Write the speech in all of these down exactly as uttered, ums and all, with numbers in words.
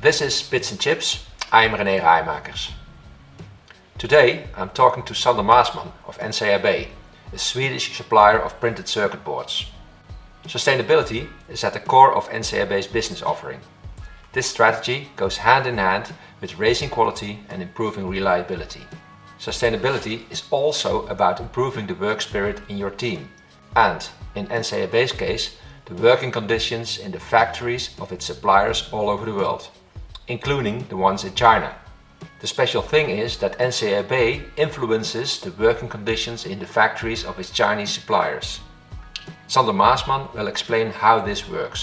This is Bits and Chips. I'm René Rijmakers. Today I'm talking to Sander Maasman of N C A B, a Swedish supplier of printed circuit boards. Sustainability is at the core of N C A B's business offering. This strategy goes hand in hand with raising quality and improving reliability. Sustainability is also about improving the work spirit in your team and, in N C A B's case, the working conditions in the factories of its suppliers all over the world, including the ones in China. The special thing is that N C A B influences the working conditions in the factories of its Chinese suppliers. Sander Maasman will explain how this works.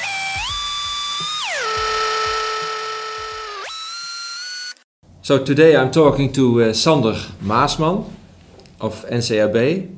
So today I'm talking to uh, Sander Maasman of N C A B.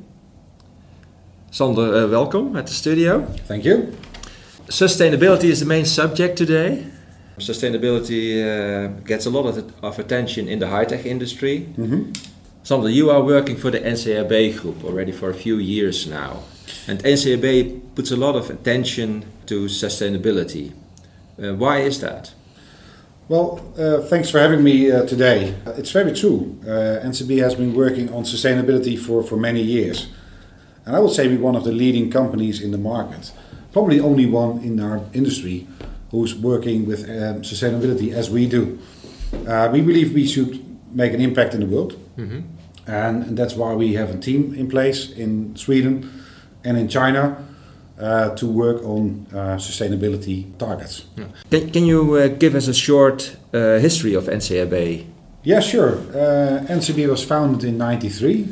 Sander, uh, welcome at the studio. Thank you. Sustainability is the main subject today. Sustainability uh, gets a lot of, of attention in the high-tech industry. Mm-hmm. Sander, you are working for the N C A B group already for a few years now. And N C A B puts a lot of attention to sustainability. Uh, why is that? Well, uh, thanks for having me uh, today. Uh, it's very true. Uh, N C A B has been working on sustainability for, for many years. And I would say we're one of the leading companies in the market. Probably only one in our industry who's working with um, sustainability as we do. Uh, we believe we should make an impact in the world. Mm-hmm. And, and that's why we have a team in place in Sweden and in China uh, to work on uh, sustainability targets. Yeah. Can, can you uh, give us a short uh, history of N C A B? Yeah, sure. Uh, N C A B was founded in ninety-three,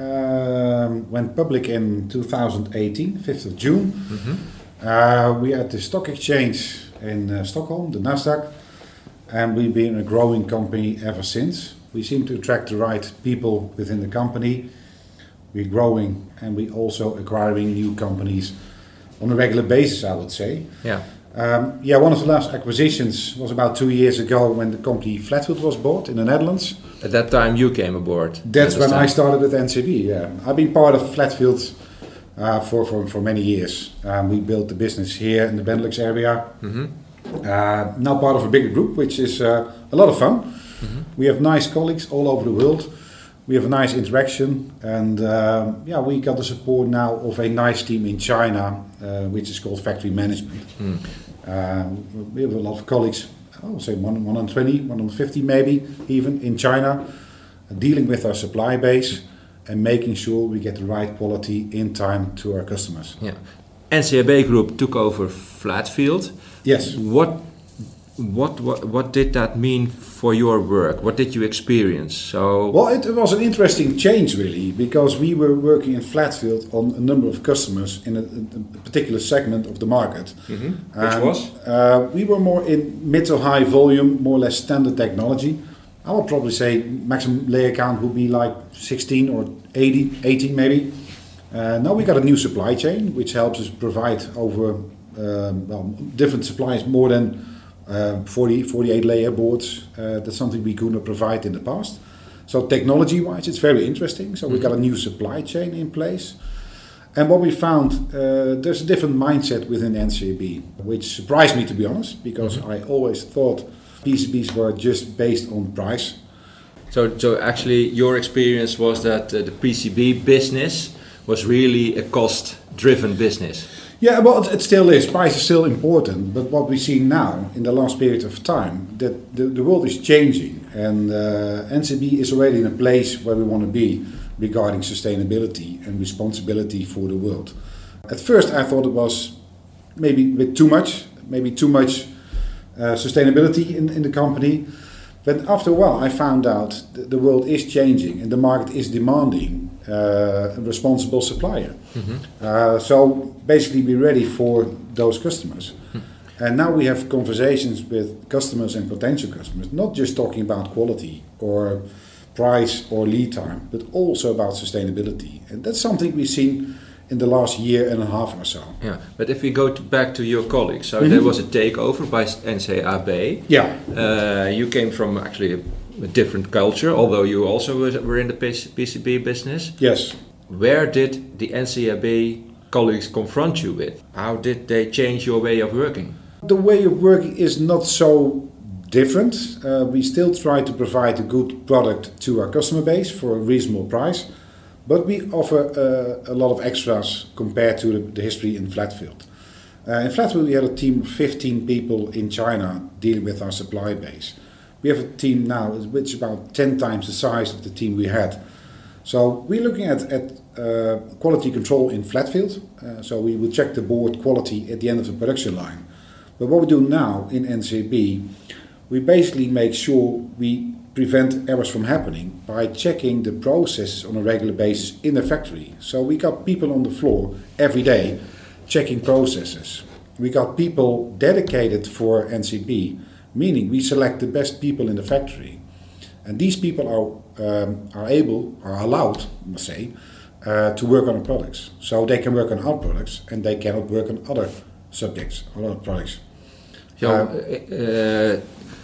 um, went public in two thousand eighteen, fifth of June. Mm-hmm. Uh, we are at the stock exchange in uh, Stockholm, the Nasdaq, and we've been a growing company ever since. We seem to attract the right people within the company. We're growing and we're also acquiring new companies on a regular basis, I would say. Yeah. Um, yeah, one of the last acquisitions was about two years ago when the company Flatfield was bought in the Netherlands. At that time you came aboard. That's when I started with N C A B, yeah. I've been part of Flatfield uh, for, for, for many years. Um, we built the business here in the Benelux area. Mm-hmm. Uh, now part of a bigger group, which is uh, a lot of fun. Mm-hmm. We have nice colleagues all over the world. We have a nice interaction, and uh, yeah, we got the support now of a nice team in China, uh, which is called Factory Management. Mm. Uh, we have a lot of colleagues, I would say one hundred twenty, one hundred fifty maybe, even in China, uh, dealing with our supply base and making sure we get the right quality in time to our customers. Yeah. N C A B Group took over Flatfield. Yes. What, what, what, what did that mean for your work? What did you experience? So well, it, it was an interesting change really, because we were working in Flatfield on a number of customers in a, a particular segment of the market. Mm-hmm. Which um, was? Uh, we were more in mid to high volume, more or less standard technology. I would probably say maximum layer count would be like sixteen or eighty, eighteen maybe. Uh, now we got a new supply chain, which helps us provide over um, well, different suppliers more than Uh, forty, forty-eight layer boards. Uh, that's something we could not provide in the past. So technology-wise, it's very interesting. So mm-hmm. we got a new supply chain in place. And what we found, uh, there's a different mindset within N C A B, which surprised me, to be honest, because mm-hmm. I always thought P C Bs were just based on price. So, so actually your experience was that uh, the P C B business was really a cost-driven business. Yeah, well, it, it still is. Price is still important. But what we see now, in the last period of time, that the, the world is changing. And uh, N C A B is already in a place where we want to be regarding sustainability and responsibility for the world. At first, I thought it was maybe a bit too much, maybe too much uh, sustainability in, in the company. But after a while, I found out that the world is changing and the market is demanding uh, a responsible supplier. Mm-hmm. Uh, so basically, we're ready for those customers. Mm-hmm. And now we have conversations with customers and potential customers, not just talking about quality or price or lead time, but also about sustainability. And that's something we've seen in the last year and a half or so. Yeah, but if we go to back to your colleagues, so mm-hmm. there was a takeover by N C A B. Yeah. Uh, you came from actually a, a different culture, although you also was, were in the P C B business. Yes. Where did the N C A B colleagues confront you with? How did they change your way of working? The way of working is not so different. Uh, we still try to provide a good product to our customer base for a reasonable price, but we offer uh, a lot of extras compared to the, the history in Flatfield. Uh, in Flatfield we had a team of fifteen people in China dealing with our supply base. We have a team now which is about ten times the size of the team we had. So we're looking at, at uh, quality control in Flatfield. Uh, so we will check the board quality at the end of the production line. But what we do now in N C A B, we basically make sure we prevent errors from happening by checking the processes on a regular basis in the factory. So we got people on the floor every day checking processes. We got people dedicated for N C A B, meaning we select the best people in the factory. And these people are, um, are able, are allowed, I must say, uh, to work on our products. So they can work on our products and they cannot work on other subjects or other products. So, uh, uh,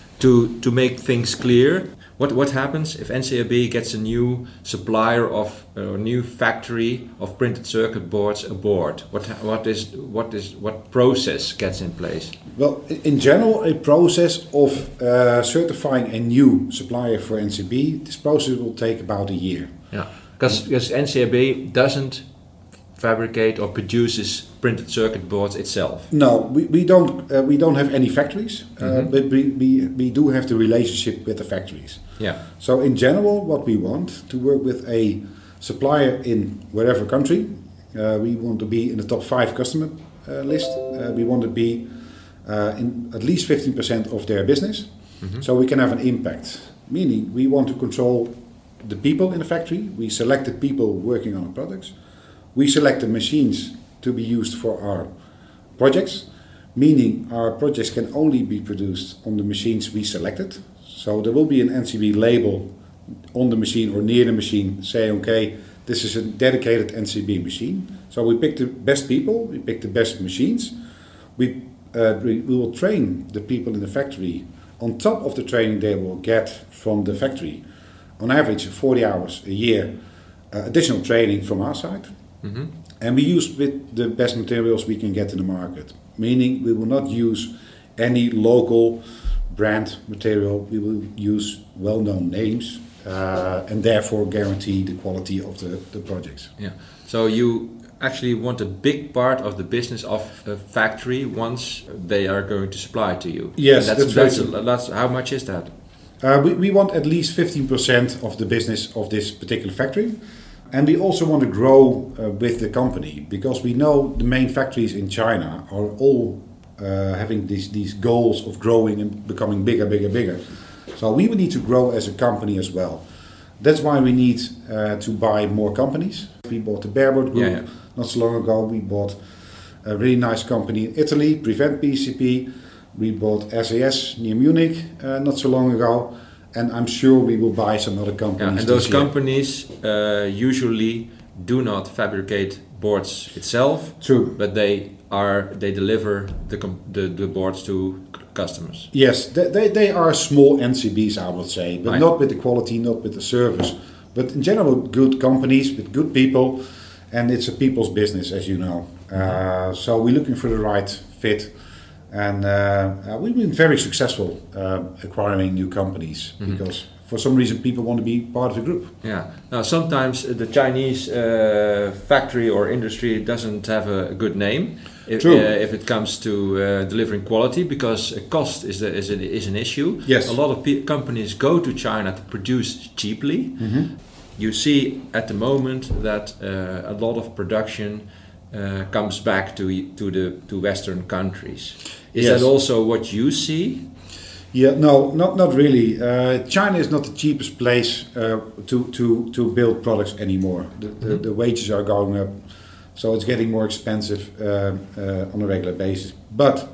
to to make things clear, what what happens if N C A B gets a new supplier of a uh, new factory of printed circuit boards aboard? What what is what is what process gets in place? Well, in general, a process of uh, certifying a new supplier for N C A B, this process will take about a year. Yeah, because because N C A B doesn't fabricate or produces printed circuit boards itself. No, we, we don't uh, we don't have any factories, uh, mm-hmm. but we, we, we do have the relationship with the factories. Yeah. So in general, what we want to work with a supplier in wherever country, uh, we want to be in the top five customer uh, list. Uh, we want to be uh, in at least fifteen percent of their business, mm-hmm. so we can have an impact. Meaning, we want to control the people in the factory. We select the people working on our products. We select the machines to be used for our projects, meaning our projects can only be produced on the machines we selected. So there will be an N C A B label on the machine or near the machine saying, okay, this is a dedicated N C A B machine. So we pick the best people, we pick the best machines. We, uh, we, we will train the people in the factory on top of the training they will get from the factory. On average, forty hours a year, uh, additional training from our side. Mm-hmm. And we use with the best materials we can get in the market. Meaning we will not use any local brand material. We will use well-known names uh, and therefore guarantee the quality of the, the projects. Yeah. So you actually want a big part of the business of a factory once they are going to supply to you. Yes, and that's, that's, that's, right. a, that's how much is that? Uh, we, we want at least fifteen percent of the business of this particular factory. And we also want to grow uh, with the company because we know the main factories in China are all uh, having these, these goals of growing and becoming bigger, bigger, bigger. So we would need to grow as a company as well. That's why we need uh, to buy more companies. We bought the Bearboard Group yeah, yeah. not so long ago. We bought a really nice company in Italy, Prevent P C P. We bought S A S near Munich uh, not so long ago. And I'm sure we will buy some other companies. Yeah, and those companies uh, usually do not fabricate boards itself. True. But they are they deliver the the, the boards to customers. Yes, they, they, they are small N C Bs, I would say, but right. not with the quality, not with the service. But in general, good companies with good people, and it's a people's business, as you know. Uh, so we're looking for the right fit. And uh, uh, we've been very successful uh, acquiring new companies mm-hmm. because for some reason people want to be part of the group. Yeah. Now sometimes the Chinese uh, factory or industry doesn't have a good name if, True. Uh, if it comes to uh, delivering quality because cost is, the, is, a, is an issue. Yes. A lot of pe- companies go to China to produce cheaply. Mm-hmm. You see at the moment that uh, a lot of production uh, comes back to to the to Western countries. Is yes. that also what you see? Yeah, no, not not really. Uh, China is not the cheapest place uh, to, to, to build products anymore. The, the, mm-hmm. the wages are going up, so it's getting more expensive uh, uh, on a regular basis. But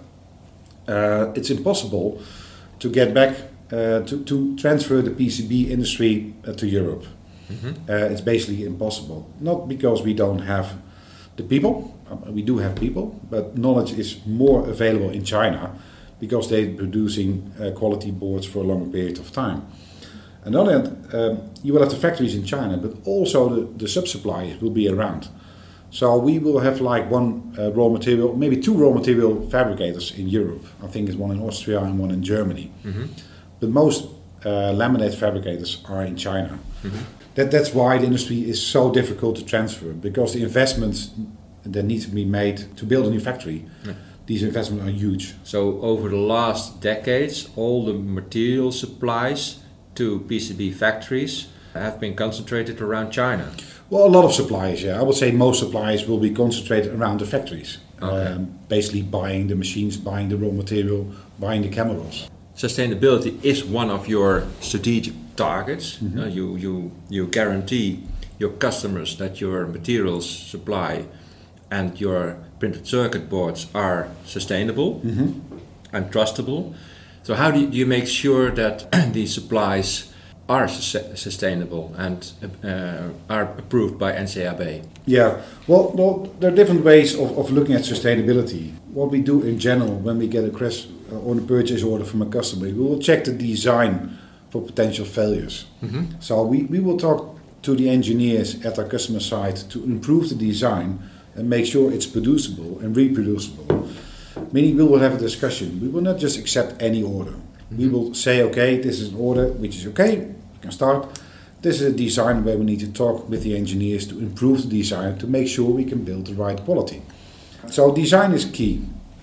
uh, it's impossible to get back uh, to, to transfer the P C B industry uh, to Europe. Mm-hmm. Uh, it's basically impossible. Not because we don't have the people. We do have people, but knowledge is more available in China because they're producing uh, quality boards for a longer period of time. On the other hand, um, you will have the factories in China, but also the, the sub-suppliers will be around. So we will have like one uh, raw material, maybe two raw material fabricators in Europe. I think it's one in Austria and one in Germany. Mm-hmm. But most uh, laminate fabricators are in China. Mm-hmm. That, that's why the industry is so difficult to transfer, because the investments that need to be made to build a new factory, yeah. These investments are huge. So over the last decades, all the material supplies to P C B factories have been concentrated around China? Well, a lot of suppliers, yeah. I would say most suppliers will be concentrated around the factories. Okay. Um, basically buying the machines, buying the raw material, buying the chemicals. Sustainability is one of your strategic targets. Mm-hmm. Uh, you, you, you guarantee your customers that your materials supply and your printed circuit boards are sustainable mm-hmm. and trustable. So how do you, do you make sure that these supplies are su- sustainable and uh, are approved by N C A B? Yeah, well, well, there are different ways of, of looking at sustainability. What we do in general when we get a request or a purchase order from a customer, we will check the design for potential failures. Mm-hmm. So we, we will talk to the engineers at our customer site to improve the design and make sure it's producible and reproducible. Meaning we will have a discussion. We will not just accept any order. Mm-hmm. We will say, okay, this is an order which is okay, we can start. This is a design where we need to talk with the engineers to improve the design to make sure we can build the right quality. So design is key.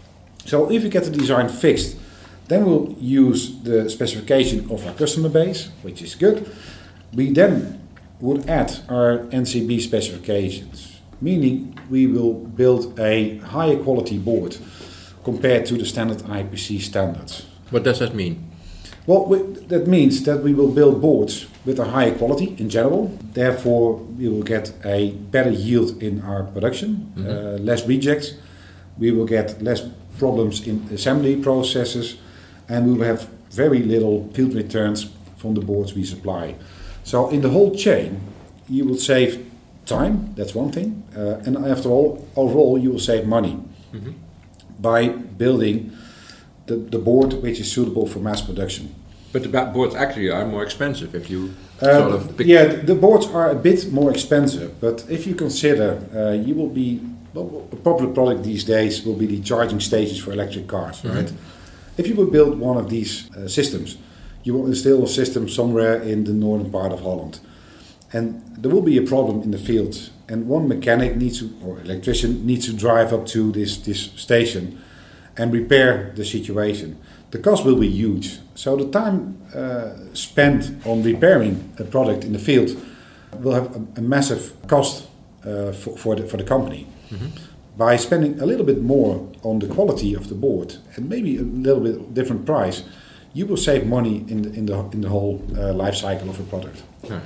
So if we get the design fixed, then we'll use the specification of our customer base, which is good. We then would add our N C B specifications, meaning we will build a higher quality board compared to the standard I P C standards. What does that mean? Well, we, that means that we will build boards with a higher quality in general. Therefore, we will get a better yield in our production, mm-hmm. uh, less rejects. We will get less problems in assembly processes, and we will have very little field returns from the boards we supply. So in the whole chain, you will save time, that's one thing, uh, and after all, overall you will save money mm-hmm. by building the, the board which is suitable for mass production. But the boards actually are more expensive if you uh, sort of pick... Yeah, the boards are a bit more expensive, but if you consider, uh, you will be, well, a popular product these days will be the charging stations for electric cars, mm-hmm. right? If you would build one of these uh, systems, you will install a system somewhere in the northern part of Holland. And there will be a problem in the field, and one mechanic needs to, or electrician needs to drive up to this, this station and repair the situation. The cost will be huge. So the time uh, spent on repairing a product in the field will have a, a massive cost uh, for, for, the, for the company. Mm-hmm. By spending a little bit more on the quality of the board and maybe a little bit different price, you will save money in the, in the, in the whole uh, life cycle of a product. Yeah.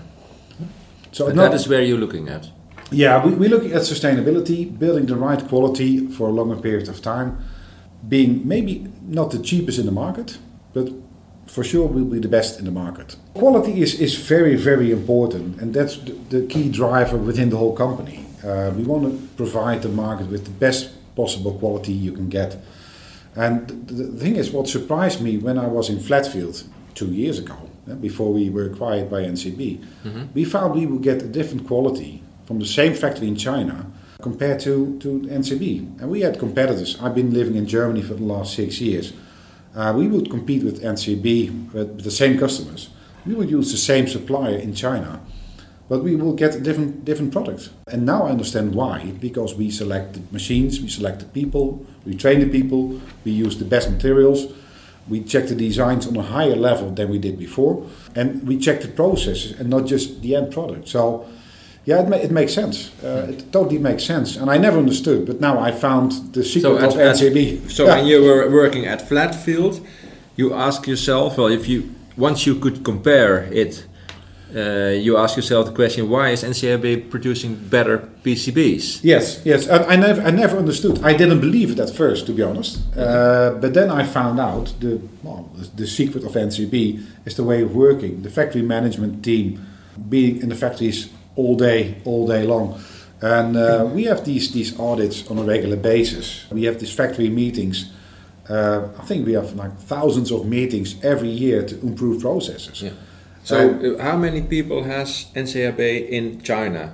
So and not, that is where you're looking at. Yeah, we, we're looking at sustainability, building the right quality for a longer period of time, being maybe not the cheapest in the market, but for sure we'll be the best in the market. Quality is, is very, very important, and that's the, the key driver within the whole company. Uh, we want to provide the market with the best possible quality you can get. And the, the thing is, what surprised me when I was in Flatfield two years ago, before we were acquired by N C B, mm-hmm. we found we would get a different quality from the same factory in China compared to, to N C B. And we had competitors. I've been living in Germany for the last six years. Uh, we would compete with N C B with, with the same customers. We would use the same supplier in China, but we will get a different, different product. And now I understand why, because we select the machines, we select the people, we train the people, we use the best materials, we check the designs on a higher level than we did before, and we check the processes and not just the end product. So, yeah, it, ma- it makes sense. Uh, it totally makes sense. And I never understood, but now I found the secret so of at, N C B. So yeah. When you were working at Flatfield, you ask yourself, well, if you once you could compare it, uh, you ask yourself the question, why is N C A B producing better P C Bs? Yes, yes. I, I never, I never understood. I didn't believe it at first, to be honest. Uh, but then I found out the, well, the the secret of N C B is the way of working. The factory management team being in the factories all day, all day long, and uh, we have these these audits on a regular basis. We have these factory meetings. Uh, I think we have like thousands of meetings every year to improve processes. Yeah. So, uh, how many people has N C A B in China?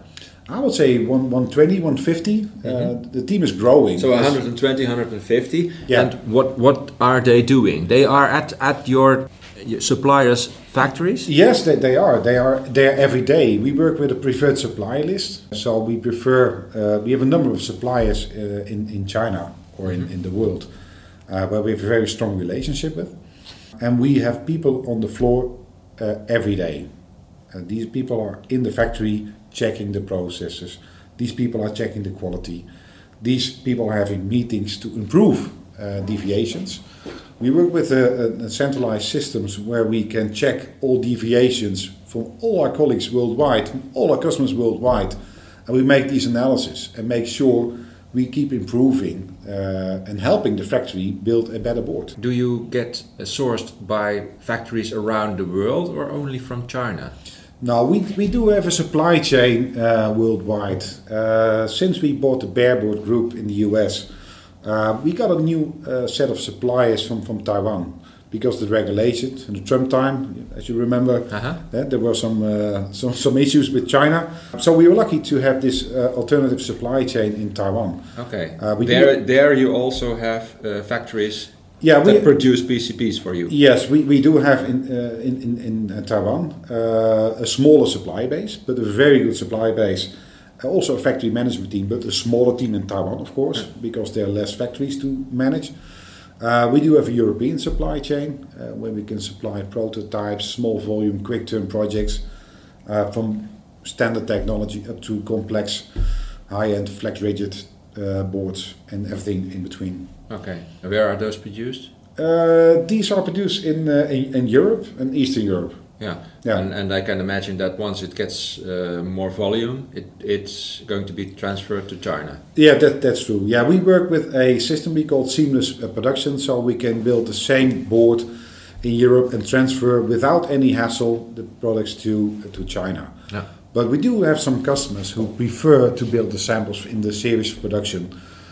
I would say one, one twenty, one fifty. Mm-hmm. Uh, the team is growing. So one hundred twenty, one hundred fifty. Yeah. And what, what are they doing? They are at, at your suppliers' factories? Yes, they, they are. They are there every day. We work with a preferred supplier list. So we prefer, uh, we have a number of suppliers uh, in, in China or in, in the world uh, where we have a very strong relationship with. And we have people on the floor uh, every day. Uh, these people are in the factory checking the processes. These people are checking the quality. These people are having meetings to improve uh, deviations. We work with a, a centralized systems where we can check all deviations from all our colleagues worldwide, from all our customers worldwide, and we make these analysis and make sure we keep improving uh, and helping the factory build a better board. Do you get uh, sourced by factories around the world or only from China? No, we, we do have a supply chain uh, worldwide. Uh, since we bought the Bearboard Group in the U S, uh, we got a new uh, set of suppliers from, from Taiwan. Because of the regulations and the Trump time, as you remember, uh-huh. uh, there were some, uh, some some issues with China. So we were lucky to have this uh, alternative supply chain in Taiwan. Okay. Uh, there, there you also have uh, factories yeah, that we, produce P C Bs for you. Yes, we, we do have in uh, in in, in uh, Taiwan uh, a smaller supply base, but a very good supply base. Uh, also a factory management team, but a smaller team in Taiwan, of course, yeah. because there are less factories to manage. Uh, we do have a European supply chain uh, where we can supply prototypes, small volume, quick turn projects uh, from standard technology up to complex high-end flex rigid uh, boards and everything in between. Okay, and where are those produced? Uh, these are produced in, uh, in in Europe and Eastern Europe. Yeah, yeah. And, and I can imagine that once it gets uh, more volume, it, it's going to be transferred to China. Yeah, that, that's true. Yeah, we work with a system we call seamless uh, production, so we can build the same board in Europe and transfer without any hassle the products to uh, to China. Yeah. But we do have some customers who prefer to build the samples in the series production,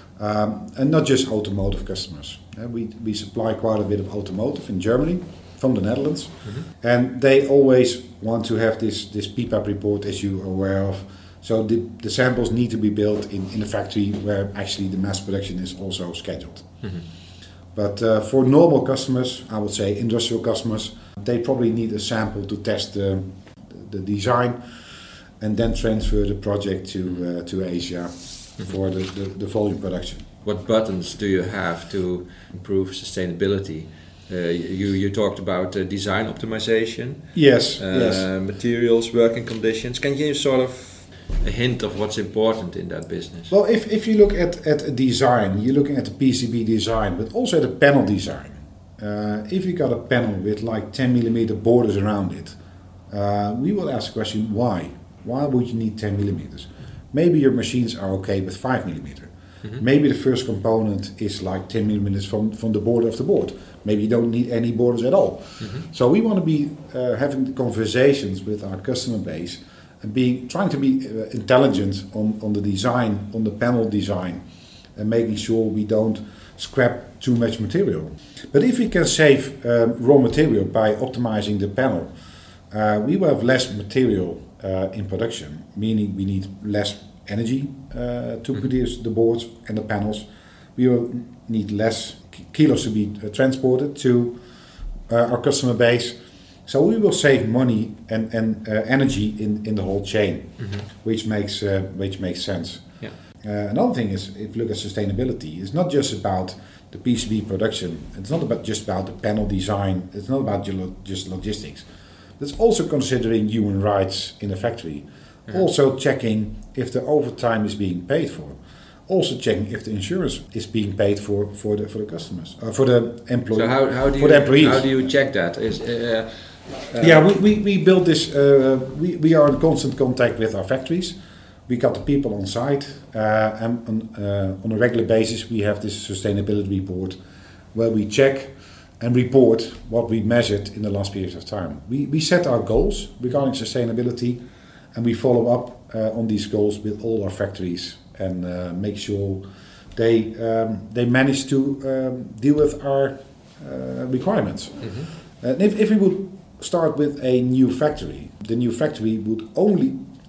um, and not just automotive customers. Uh, we we supply quite a bit of automotive in Germany. From the Netherlands, mm-hmm. and they always want to have this this P PAP report, as you are aware of. So the, the samples need to be built in, in a factory where actually the mass production is also scheduled. Mm-hmm. But uh, for normal customers, I would say industrial customers, they probably need a sample to test the, the design and then transfer the project to uh, to Asia mm-hmm. for the, the, the volume production. What buttons do you have to improve sustainability? Uh, you, you talked about uh, design optimization, yes, uh, yes, materials, working conditions. Can you sort of a hint of what's important in that business? Well, if, if you look at, at a design, you're looking at the P C B design, but also at the panel design. Uh, if you got a panel with like ten millimeter borders around it, uh, we will ask the question, why? Why would you need ten millimeters? Maybe your machines are okay with five millimeter. Mm-hmm. Maybe the first component is like ten millimeters from, from the border of the board. Maybe you don't need any borders at all. Mm-hmm. So we want to be uh, having conversations with our customer base and being trying to be uh, intelligent on, on the design, on the panel design, and making sure we don't scrap too much material. But if we can save um, raw material by optimizing the panel, uh, we will have less material uh, in production, meaning we need less energy uh, to mm-hmm. produce the boards and the panels. We will need less kilos to be uh, transported to uh, our customer base. So we will save money and, and uh, energy in, in the whole chain, mm-hmm. which makes uh, which makes sense. Yeah. Uh, another thing is, if you look at sustainability, it's not just about the P C B production. It's not about just about the panel design. It's not about just logistics. It's also considering human rights in a factory. Yeah. Also checking if the overtime is being paid for. Also checking if the insurance is being paid for for the for the customers, uh, for the employees. So how, how do for you the employees. how do you check that? Is uh, uh, yeah, we, we, we built this. Uh, we we are in constant contact with our factories. We got the people on site, uh, and on, uh, on a regular basis we have this sustainability report, where we check and report what we measured in the last period of time. We we set our goals regarding sustainability, and we follow up uh, on these goals with all our factories. And uh, make sure they um, they manage to um, deal with our uh, requirements. Mm-hmm. And if, if we would start with a new factory, the new factory would only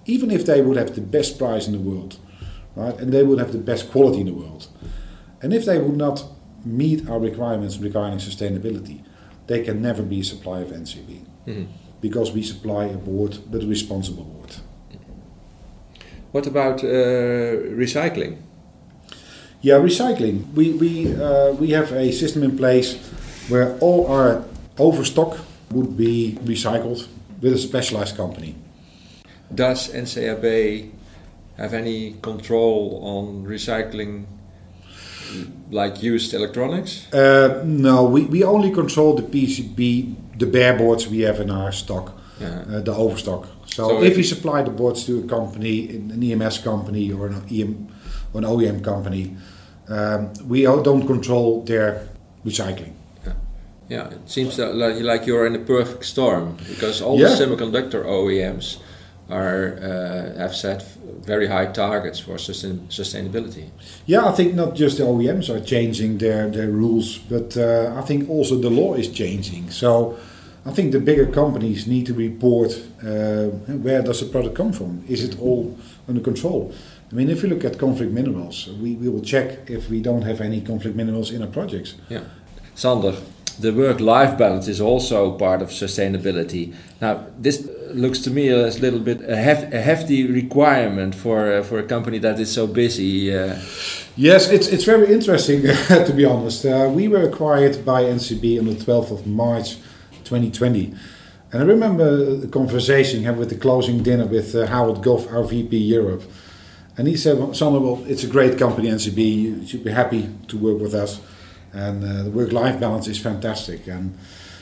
even if they would have the best price in the world, right, and they would have the best quality in the world, and if they would not meet our requirements regarding sustainability, they can never be a supplier of N C B, mm-hmm. because we supply a board, but a responsible board. What about uh, recycling? Yeah, recycling. We we uh, we have a system in place where all our overstock would be recycled with a specialized company. Does N C A B have any control on recycling, like used electronics? Uh, no, we, we only control the P C B, the bare boards we have in our stock, uh-huh. uh, the overstock. So, so if, if we supply the boards to a company, an E M S company or an, E M, or an O E M company, um, we don't control their recycling. Yeah, yeah. It seems that like, like you're in a perfect storm, because all yeah. the semiconductor O E Ms are uh, have set very high targets for sustain, sustainability. Yeah, I think not just the O E Ms are changing their, their rules, but uh, I think also the law is changing. So I think the bigger companies need to report uh, where does the product come from? Is it all under control? I mean, if you look at conflict minerals, we, we will check if we don't have any conflict minerals in our projects. Yeah. Sander, the work-life balance is also part of sustainability. Now, this looks to me as a little bit a, hef- a hefty requirement for uh, for a company that is so busy. Uh. Yes, it's it's very interesting to be honest. Uh, we were acquired by N C B on the twelfth of March twenty twenty, and I remember a conversation I had with the closing dinner with uh, Howard Goff, our V P Europe, and he said, well, Sander, well, it's a great company, N C B. You should be happy to work with us. And uh, the work-life balance is fantastic. And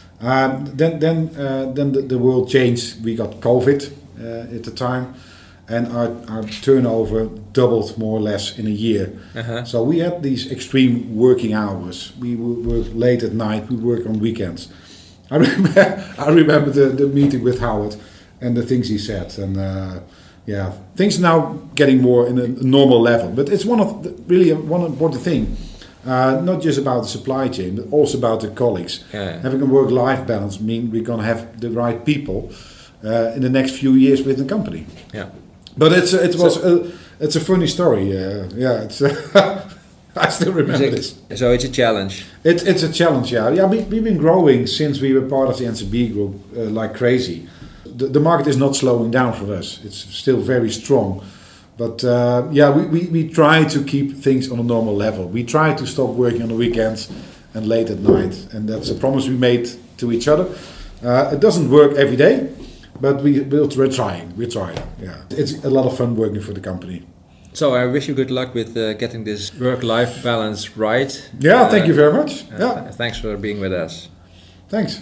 um, then, then, uh, then the, the world changed. We got COVID uh, at the time, and our, our turnover doubled more or less in a year. Uh-huh. So we had these extreme working hours. We would work late at night. We work on weekends. I remember, I remember the, the meeting with Howard and the things he said. And uh, yeah, things are now getting more in a normal level. But it's one of the, really one important thing. Uh, not just about the supply chain, but also about the colleagues. Yeah. Having a work-life balance means we're going to have the right people uh, in the next few years with the company. Yeah, but it's it was so, a, it's a funny story. Uh, yeah, it's uh, I still remember this. So it's a challenge. It's it's a challenge. Yeah, yeah. We, we've been growing since we were part of the N C B group uh, like crazy. The, the market is not slowing down for us. It's still very strong. But uh, yeah, we, we, we try to keep things on a normal level. We try to stop working on the weekends and late at night. And that's a promise we made to each other. Uh, it doesn't work every day, but we, we're trying. We're trying, yeah. It's a lot of fun working for the company. So I wish you good luck with uh, getting this work-life balance right. Yeah, uh, thank you very much. Uh, yeah. th- thanks for being with us. Thanks.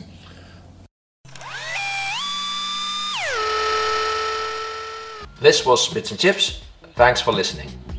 This was Bits and Chips. Thanks for listening.